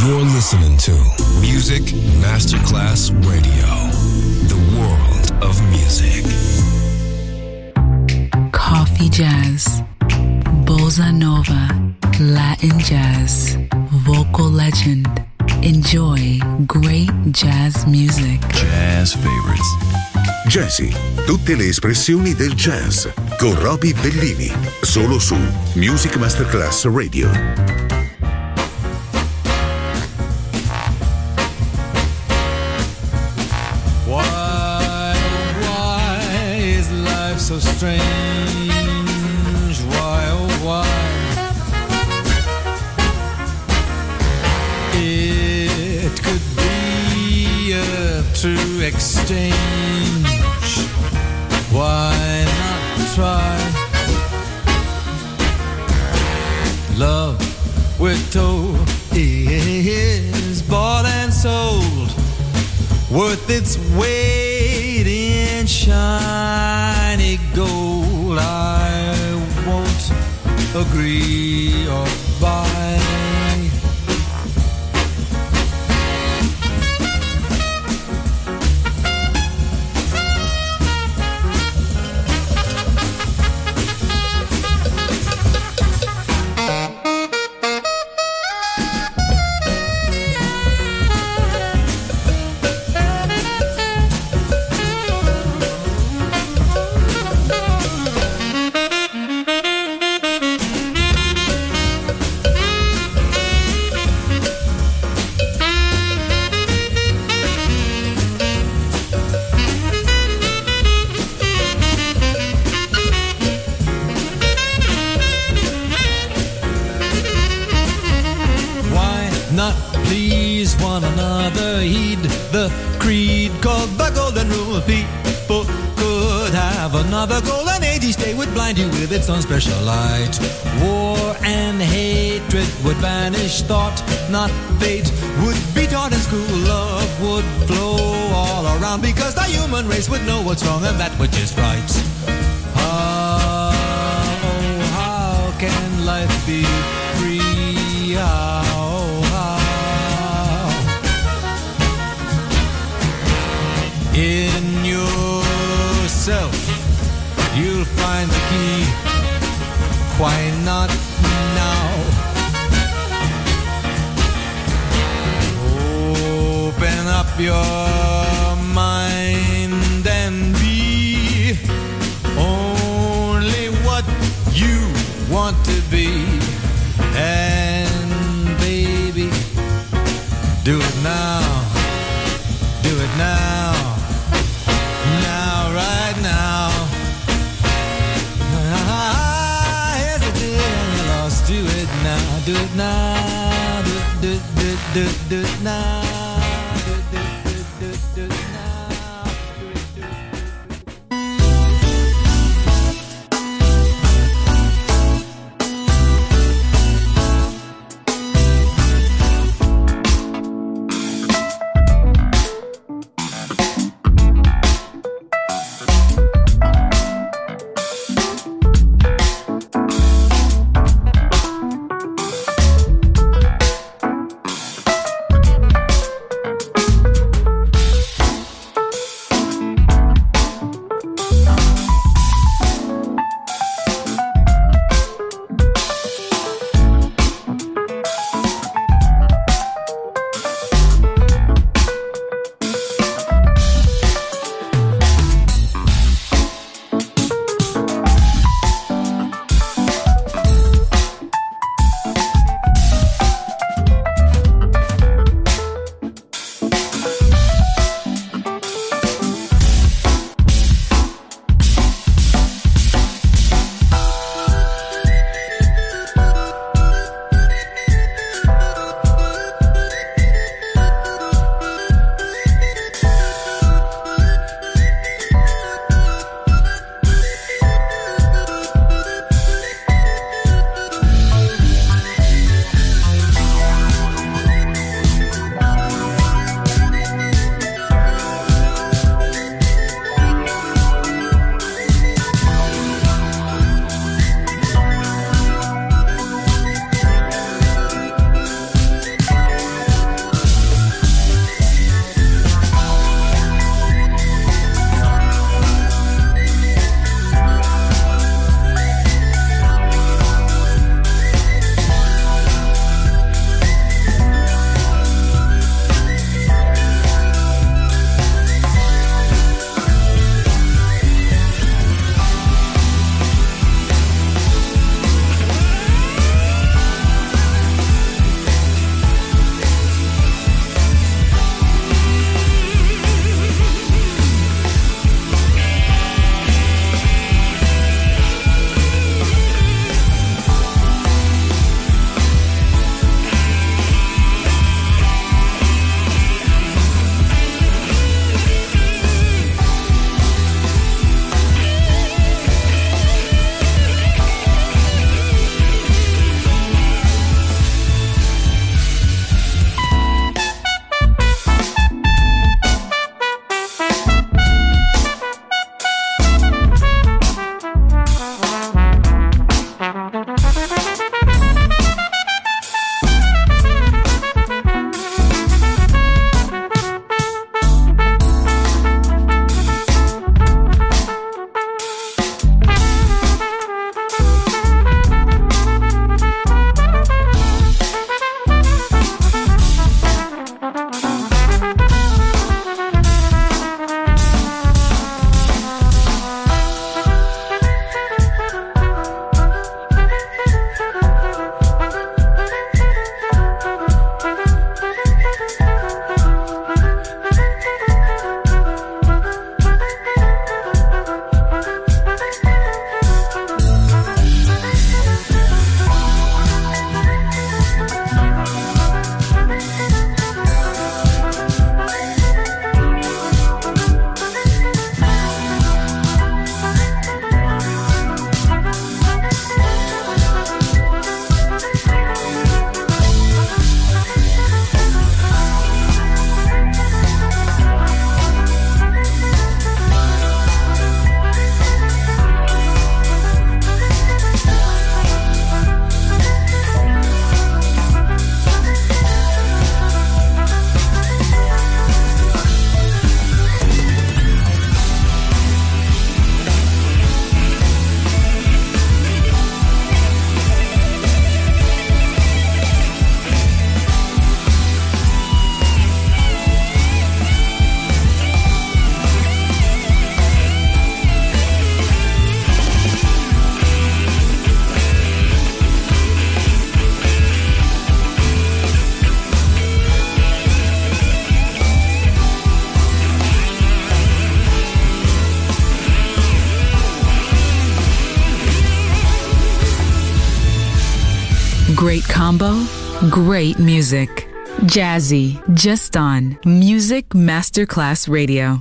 You're listening to Music Masterclass Radio, the world of music. Coffee jazz, bossa nova, Latin jazz, vocal legend. Enjoy great jazz music. Jazz favorites. Jazzy, tutte le espressioni del jazz, con Roby Bellini, solo su Music Masterclass Radio. Why is life so strange? Why, oh why? It could be a true exchange. Why not try? Love, we're told, is bought and sold, worth its weight in shiny gold. I won't agree or buy. Another golden age each day would blind you with its own special light. War and hatred would banish thought, not fate, would be taught in school. Love would flow all around because the human race would know what's wrong and that which is right. How can life be free? How? In yourself you'll find the key. Why not now? Open up your mind and be only what you want to be. And baby, do it now. Do it now. Now, right now. Do it now, do it now, do it now, do it now. Great combo, great music. Jazzy, just on Music Masterclass Radio.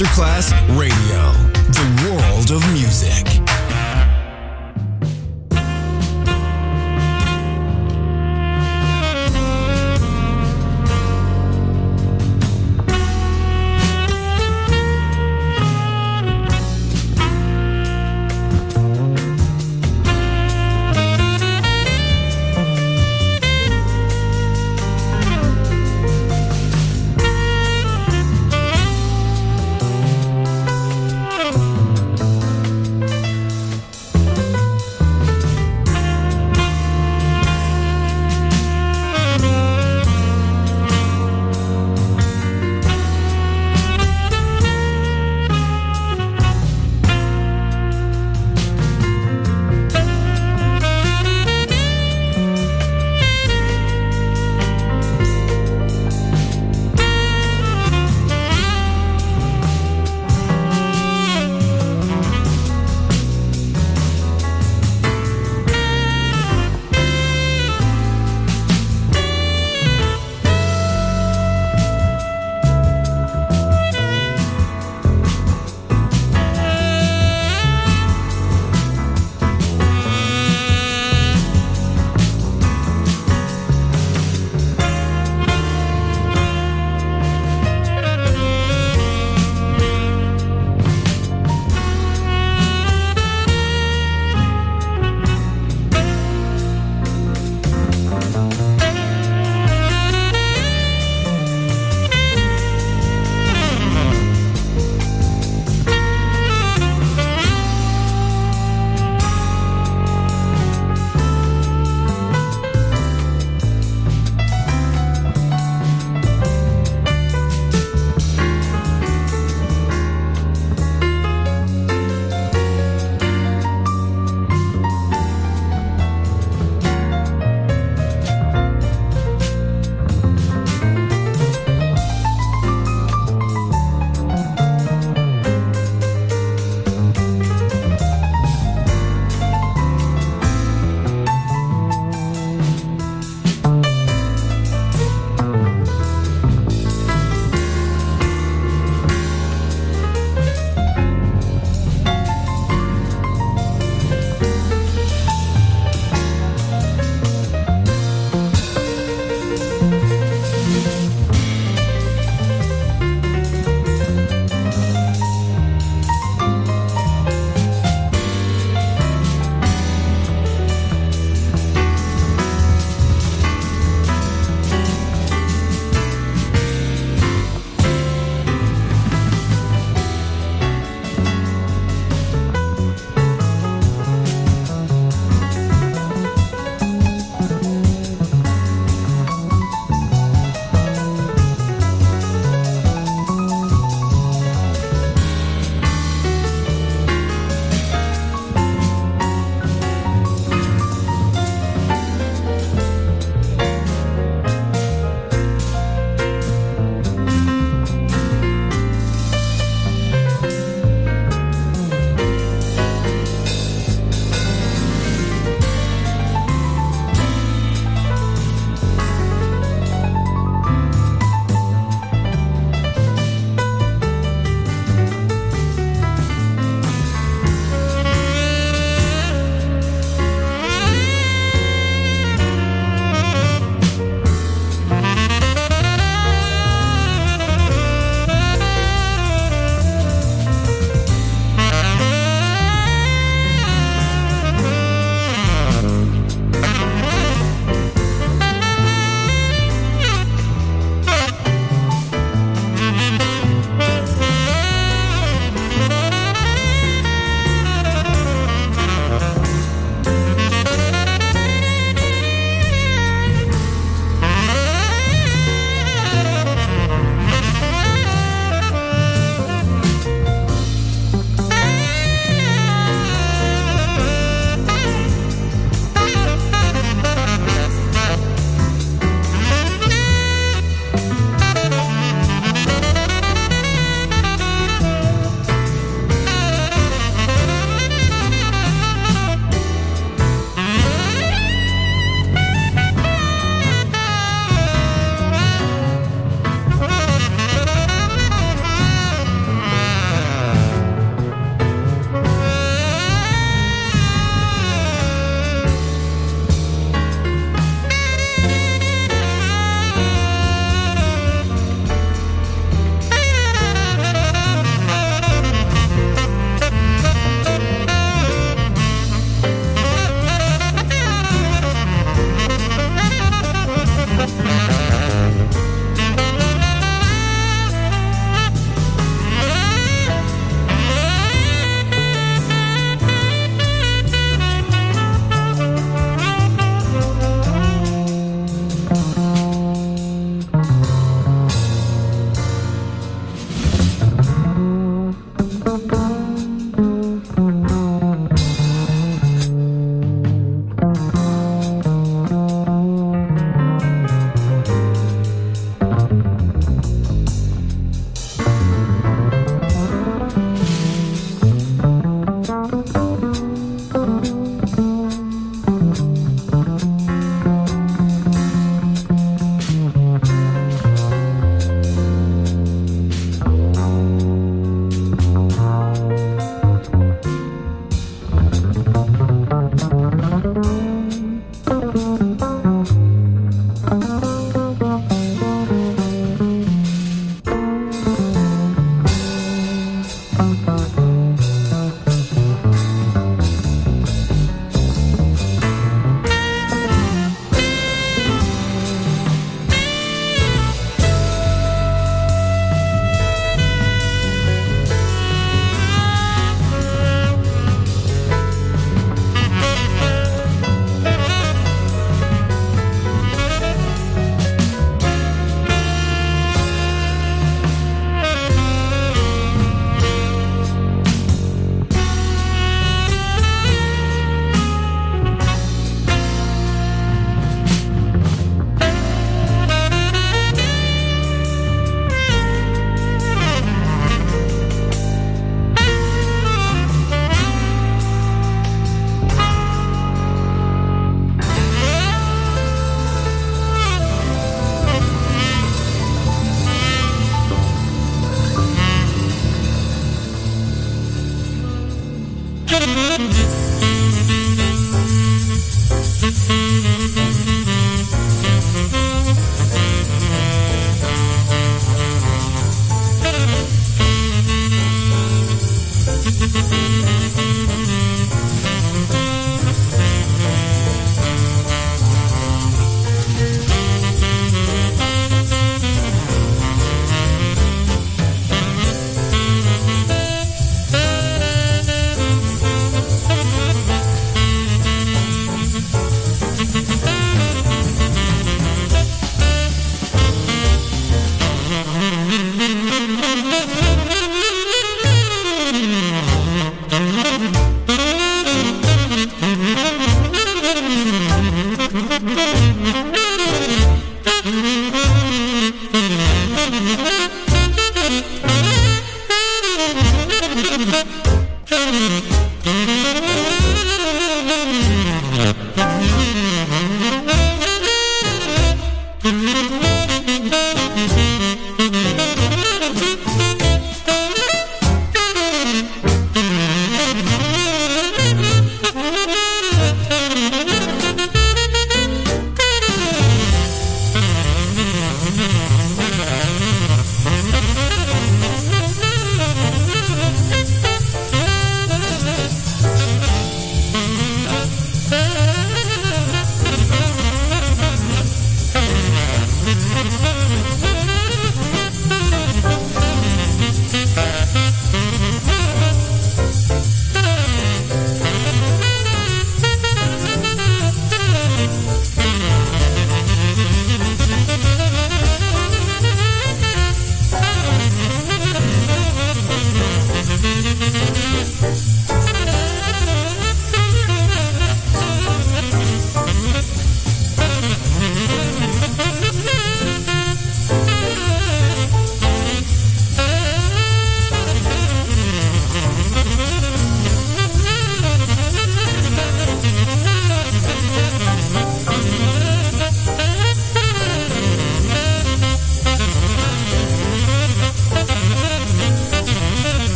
Masterclass Radio, the world of music.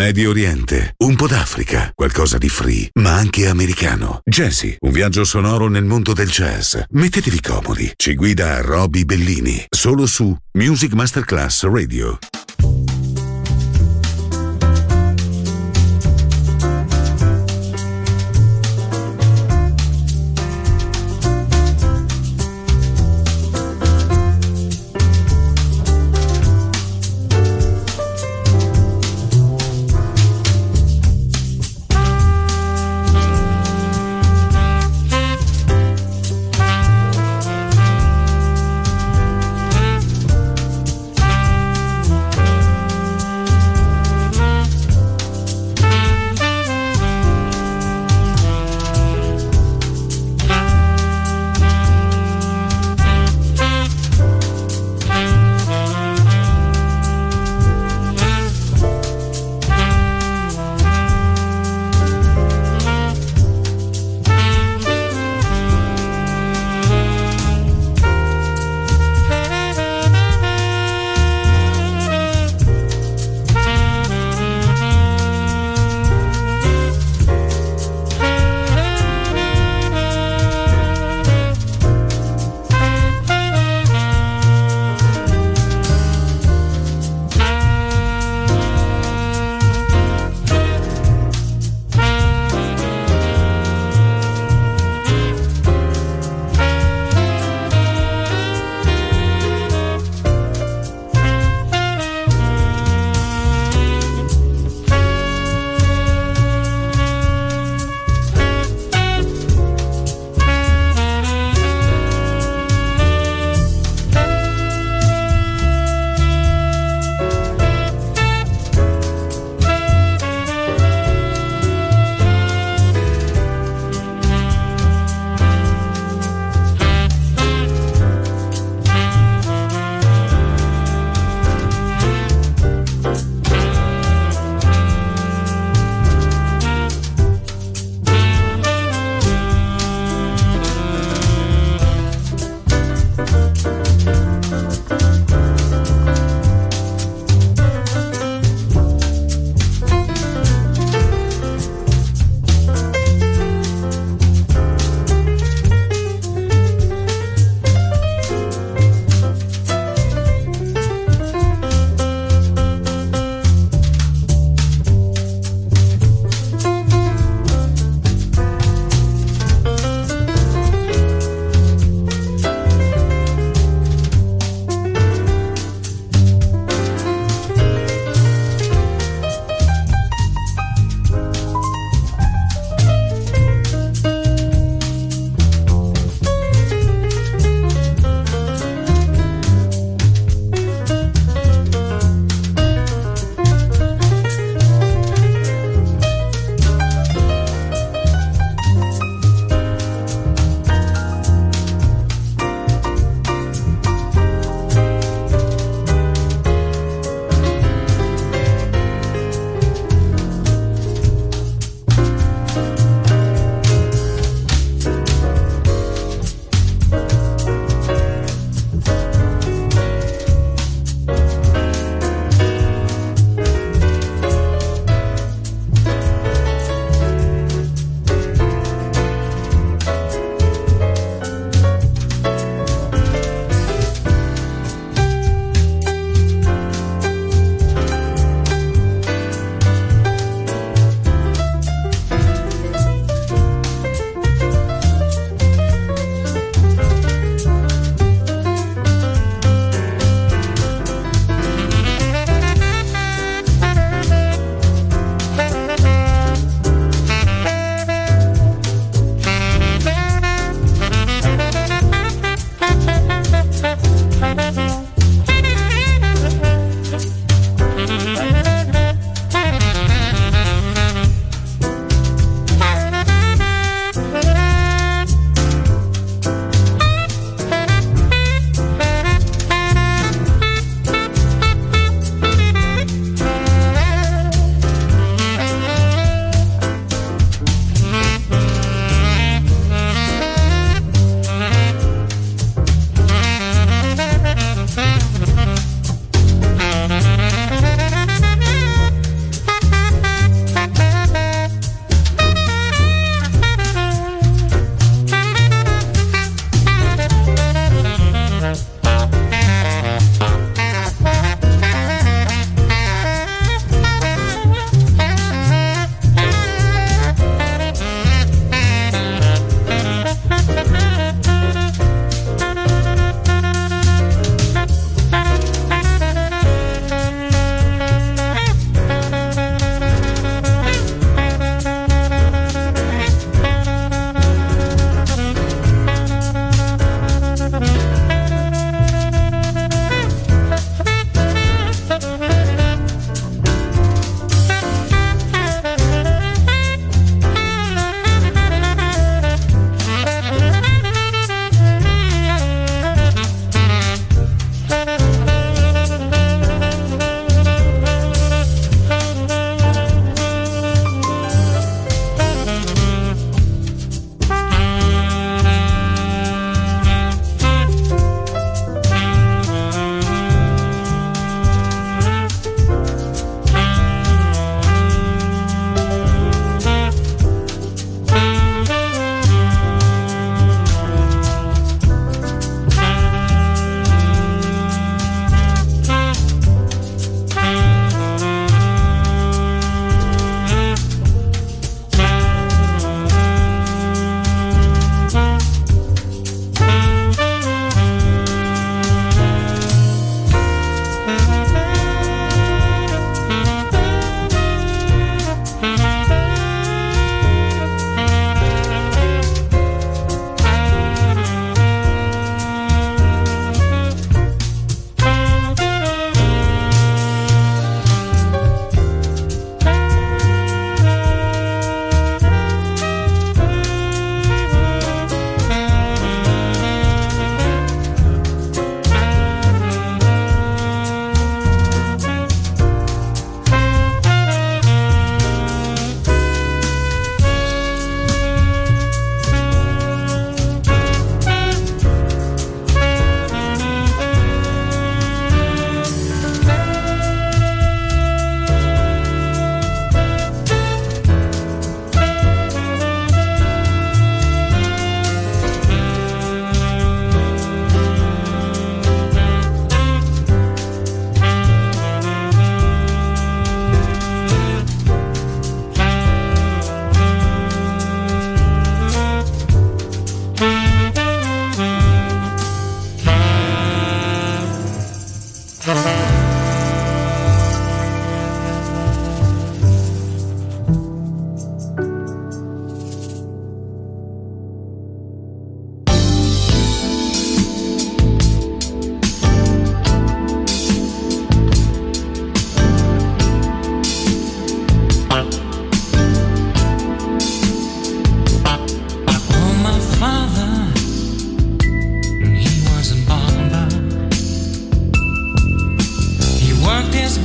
Medio Oriente, un po' d'Africa, qualcosa di free, ma anche americano. Jazzy, un viaggio sonoro nel mondo del jazz. Mettetevi comodi. Ci guida Roby Bellini, solo su Music Masterclass Radio.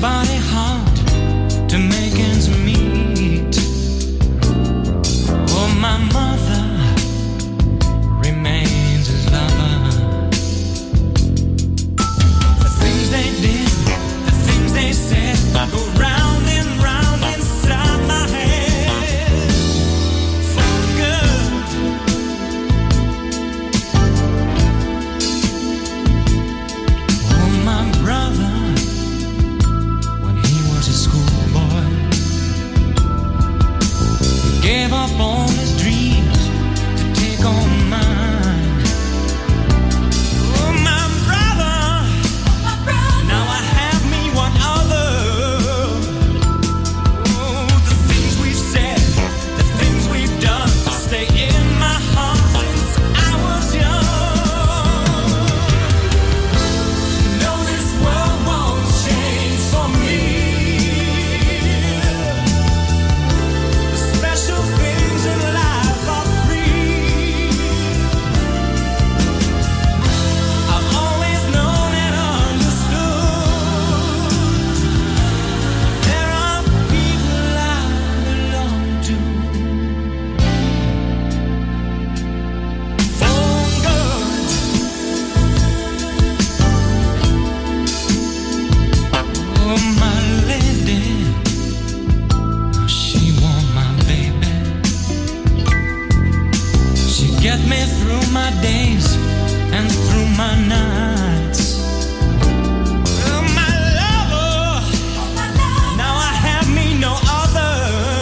body hard to make ends meet. Oh, my mother remains his lover. The things they did, the things they said, go round and round inside my head for good. Oh, my brother, when he was a schoolboy, he gave up all his dreams to take on mine. Oh, my brother, now I have me one other. Oh, the things we've said, the things we've done, stay in my heart since I was young. No, this world won't change for me. The special things in life are free. I've always known and understood there are people I belong to. For good. Oh, my lady, she want my baby. She get me through my days and through my nights. Oh, my lover, now I have me no other.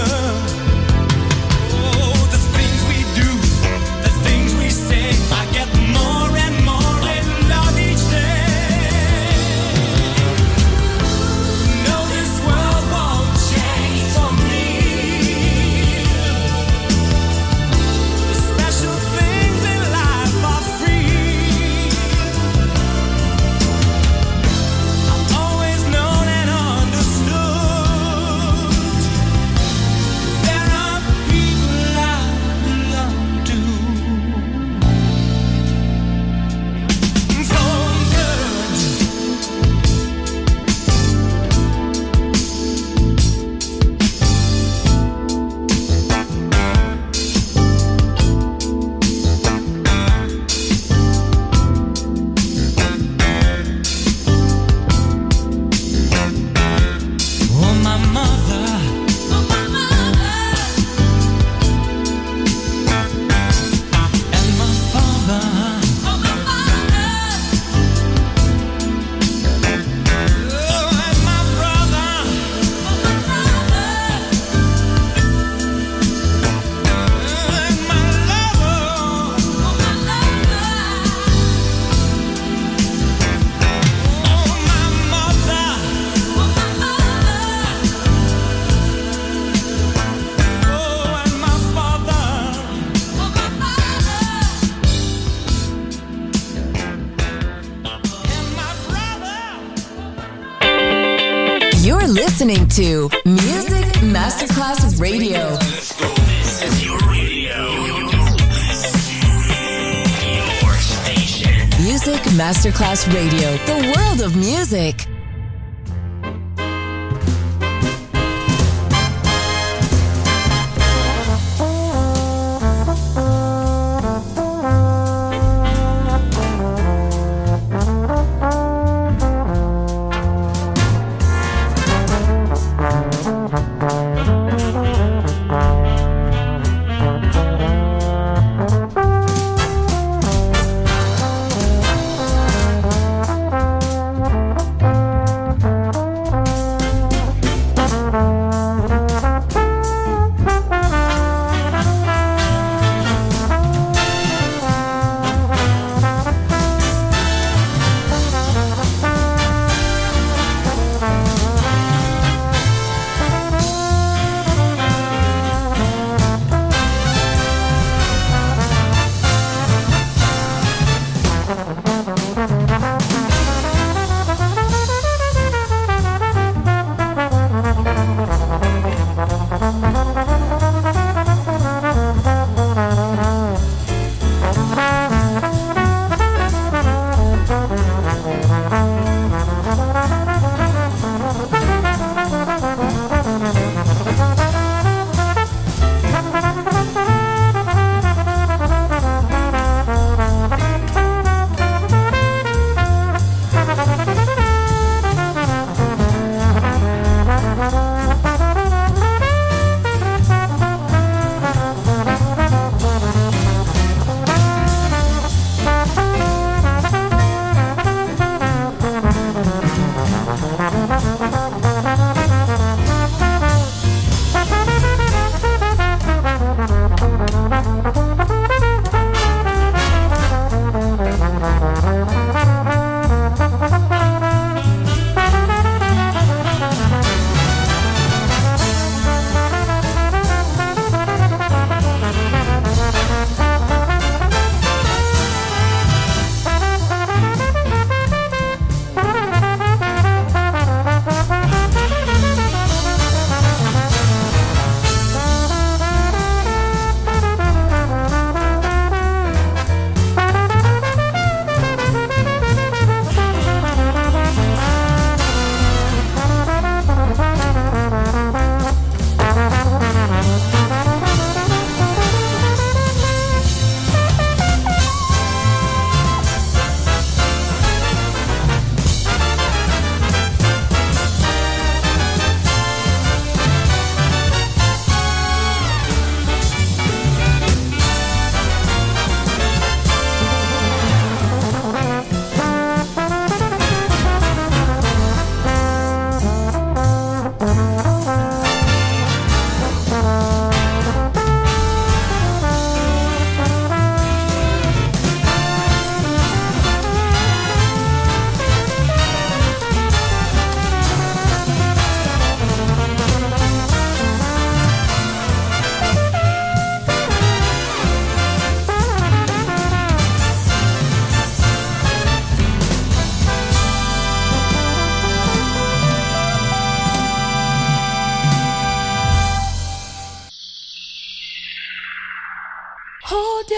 Oh, the things we do, the things we say, I get more and more in love each day. No, this world won't change for me. The special things in life are free. I've always known and understood there are people I belong to. For good. Oh, my mother, and my father, oh, and my brother, and my lover, oh, my mother, oh, and my father, and my brother. You're listening to Music Masterclass Radio. This is your radio. Your station. Music Masterclass Radio, the world of music.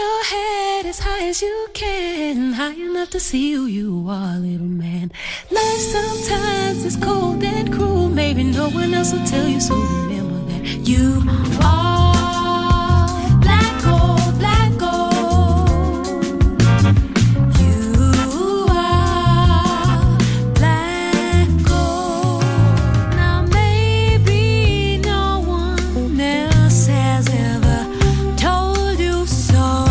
your head as high as you can, high enough to see who you are, little man. Life sometimes is cold and cruel, maybe no one else will tell you, so remember that you are black gold, black gold. You are black gold. Now maybe no one else has ever told you so,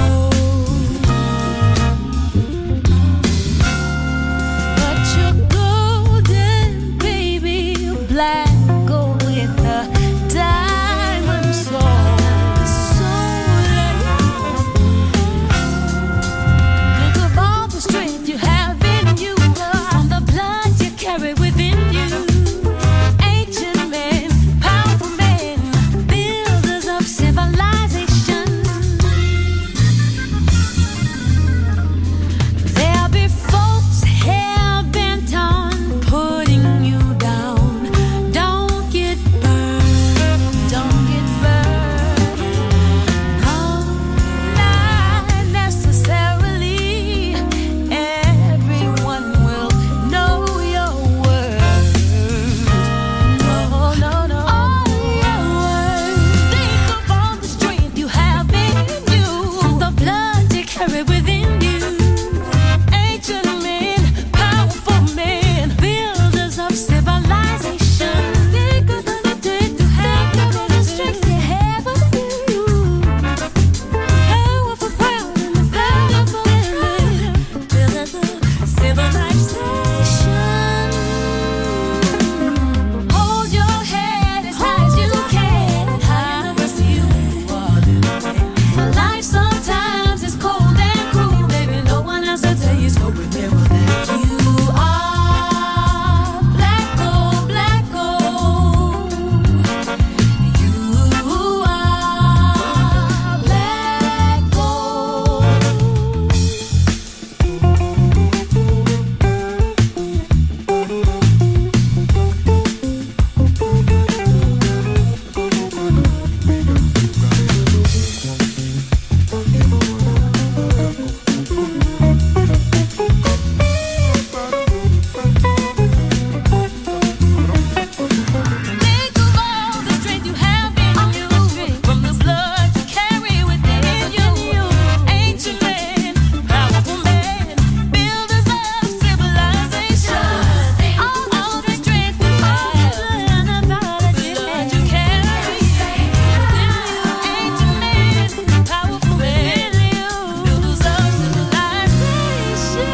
but you're golden, baby, black gold with a diamond soul. Think of all the strength you have in you, from the blood you carry within you. Ancient men, powerful men, builders of civilization. There'll be folks hell-bent on putting you down. Don't get burned, don't get burned. No, not necessarily. Everyone will know your worth. No, no, no. All your worth. Think of all the strength you have in you, the blood you carry within you. Ancient men, powerful men, builders of civilization. Think of the strength you have, think of the strength you have within you. Powerful, proud, and powerful men, builders of civilization. Hold your head as high as you can, high enough to see who you are, little man. For life sometimes is cold and cruel, baby, no one else will tell you, so remember that you are black gold, black gold. You are black gold. Think of all the strength you have in you, from the blood you carry within you. Ancient men, powerful men, builders of civilization. All the strength you have, the blood you carry within you. Ancient men, powerful men, builders of civilization.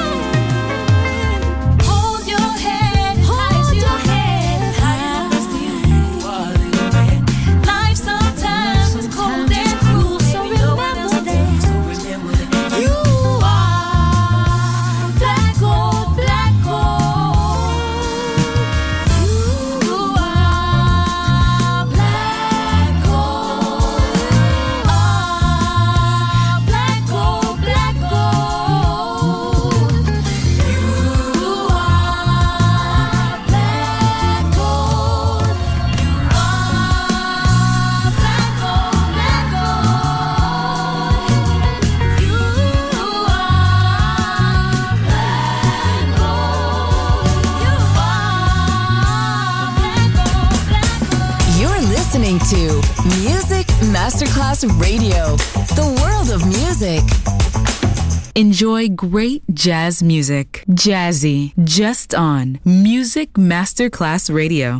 Hold your head as high as you can, high enough to see who you are, little man. Life sometimes is cold and cruel, so remember that. You are black gold, black gold. You are black gold. Black gold, black gold. You are black gold. You are black gold, black gold. You are black gold. You are black gold, black gold. You're listening to Music Masterclass Radio, the world of music. Enjoy great jazz music. Jazzy, just on Music Masterclass Radio.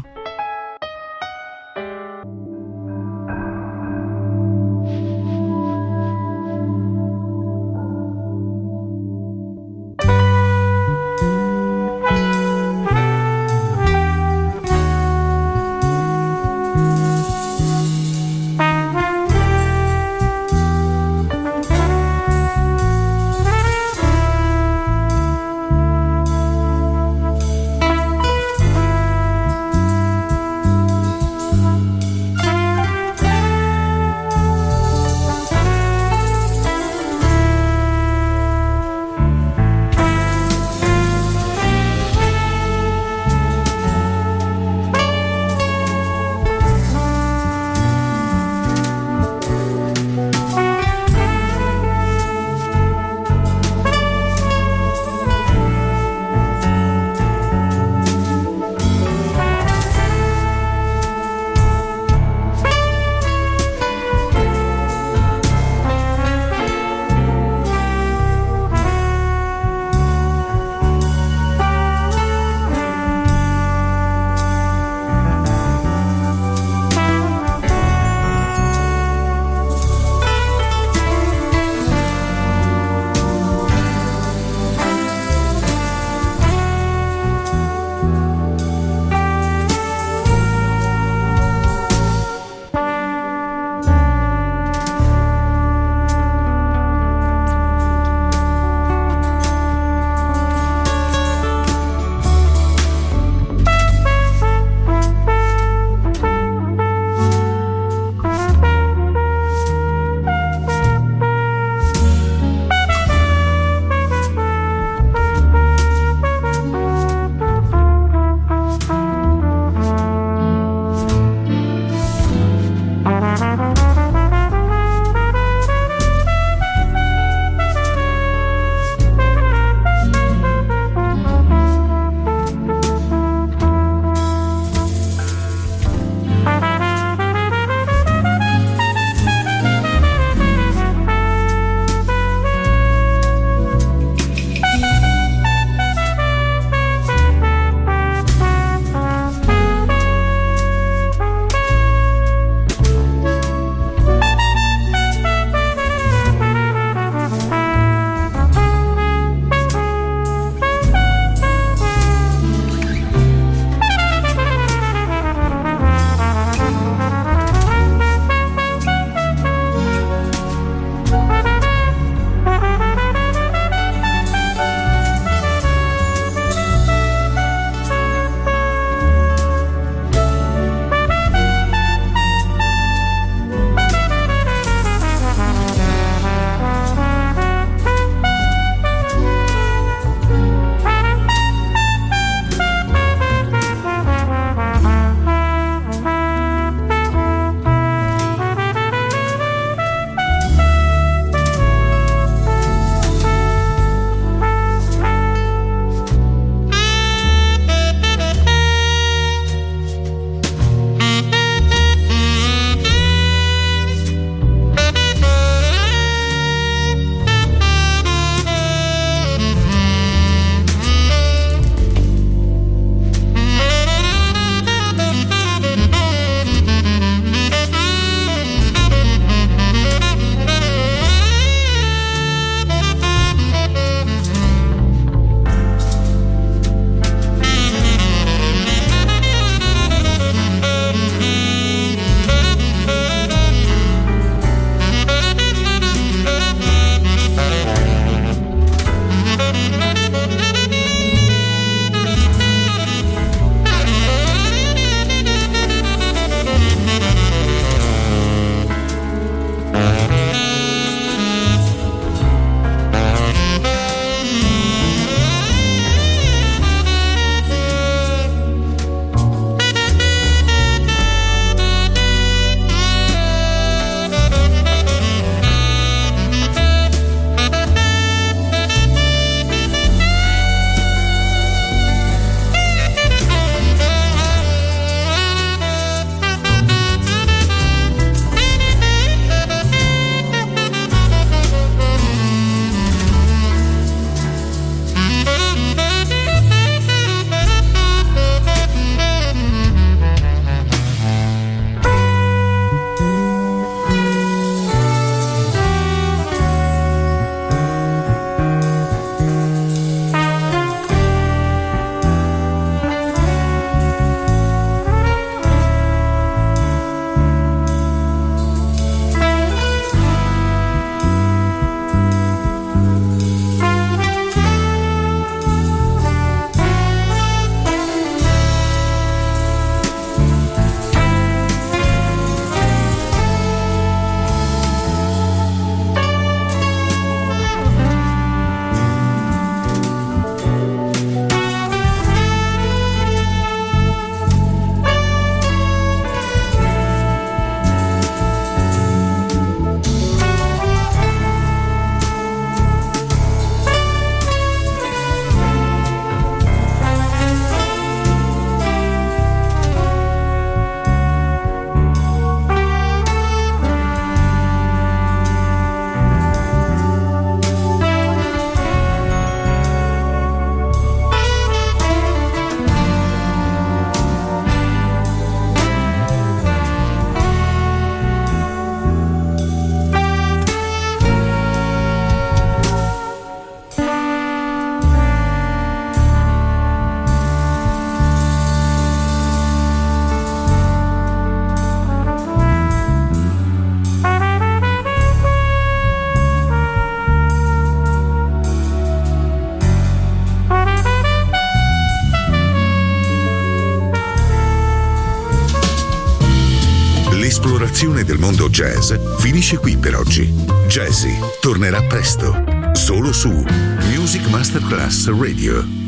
porzione del mondo jazz finisce qui per oggi. Jazzy tornerà presto, solo su Music Masterclass Radio.